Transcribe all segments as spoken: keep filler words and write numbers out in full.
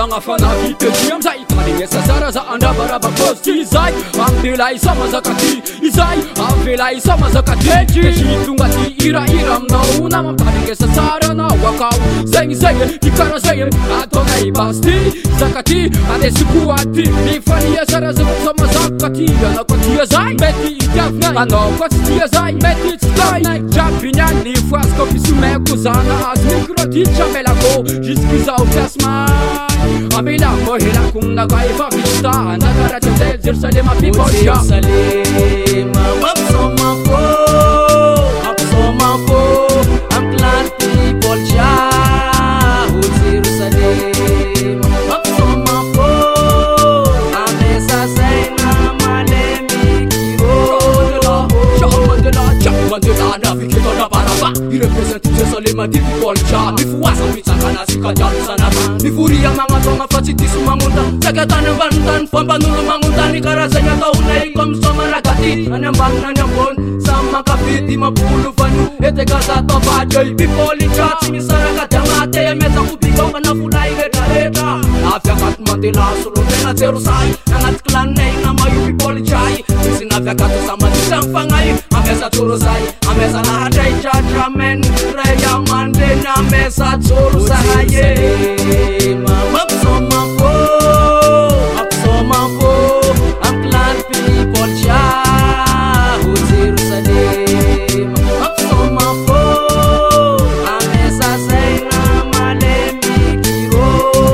magnafana vipety amizay manegnesa sara za andrabaraba posty izay amivela isa mazaka ty izay amivela isa mazaka ty de sy tonga ty iraira aminao na mampanegnesa sara anao akao zegny zegny ty kara zegny ataonay basy ty zaka ty andesiko aty mifania sara za sa mazaka ty anao ko tia zay mety itiavinay anao ko tsy tia zay mety tsy tay jiaby ny foasiko fisomeko zana azy micro ty tramelako jusqu'izao fiasmay amila mohelako minaka efa vita nakaratsy amizay Jerusalema people Jerusalema mampisoma fo mampisoma fo ampilany people jaho Jerusalema mampisoma fo amesasaina malemikiro Mandela, Mandela, navigator na baraba I represent Jerusalema di people ja mifuasa mitsangana sikajalo sanaba mifuria mangatonga fa tsy diso magnonta sakatany ambanintany fambanolo magnontany karazany ataonay komsoma ragati any ambany any ambony samy makafidy mapolo vanio etekaza tavadray people ja tsy misaraka ty agnaty amezako bikaofana folay retraretra avy akato Mandela solotena Jerusalem agnaty clanay namaio people jay misy navy akato samadisa mifagnay ameza tsoro zay ameza nahatray judgment ray amandreny ameza tsoro zaye mampisoma fo mampisoma fo ampilany people jaho Jerusalema mampisoma fo amesasaina malemikiro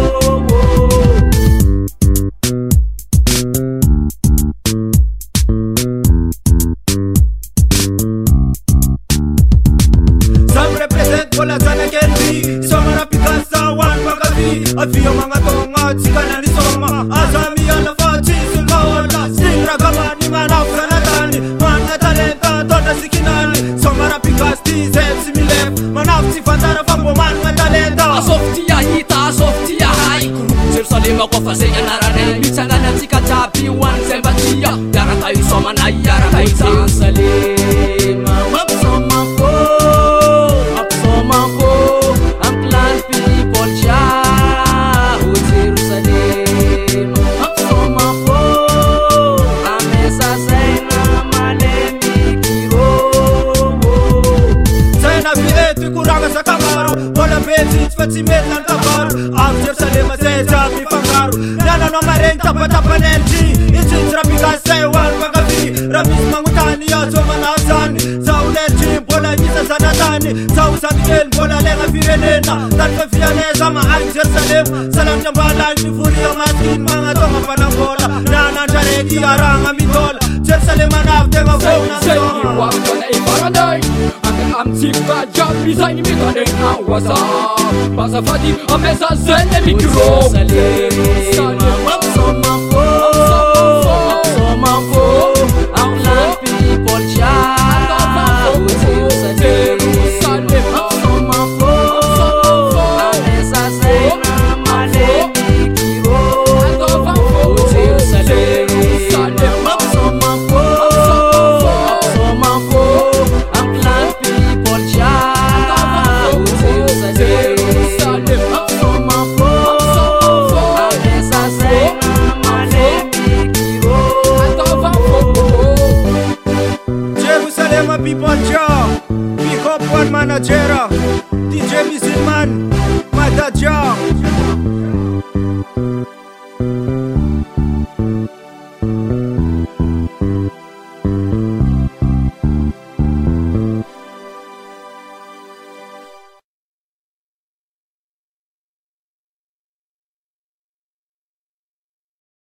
Bola sana kendi soma na pikasa wan magavi afio mga tonga tsikana ni soma azami ala fachi sulawala singra kama ni manaf sanatani mana talenta tona sikinani soma na pikasti zetsi milef manaf sifantara fambo mana talenta asofti ya hita asofti ya hai Jerusalema kwa fasenya narane mitsangana tsikatapi wan sembatia yaraka isoma na yaraka Jerusalema mampisoma fo mampisoma fo ampilany people jaho Jerusalema mampisoma fo amesasaina malemikiro zaina viety kuranga sakamaro bola betsy tsy fa tsy mety nany kabaro avy Jerusalema zay jiaby mifangaro niananao mareny tapatapanelty itsitsy raha pikasay hoany magavi raha misy magnontany azo manao zany zaho lerty mbola isa zanatany zaho samikely mbola legna firenena tany fa fianeza mahagy Jerusalema salamitra mbalany mivoria maskiny magnatonga mpanambola nanandrareky aragna mitola Jerusalema navy tegna vona ifaranay amitsika jiaby zay ny mitanegna waza bazafady ameza zay le micro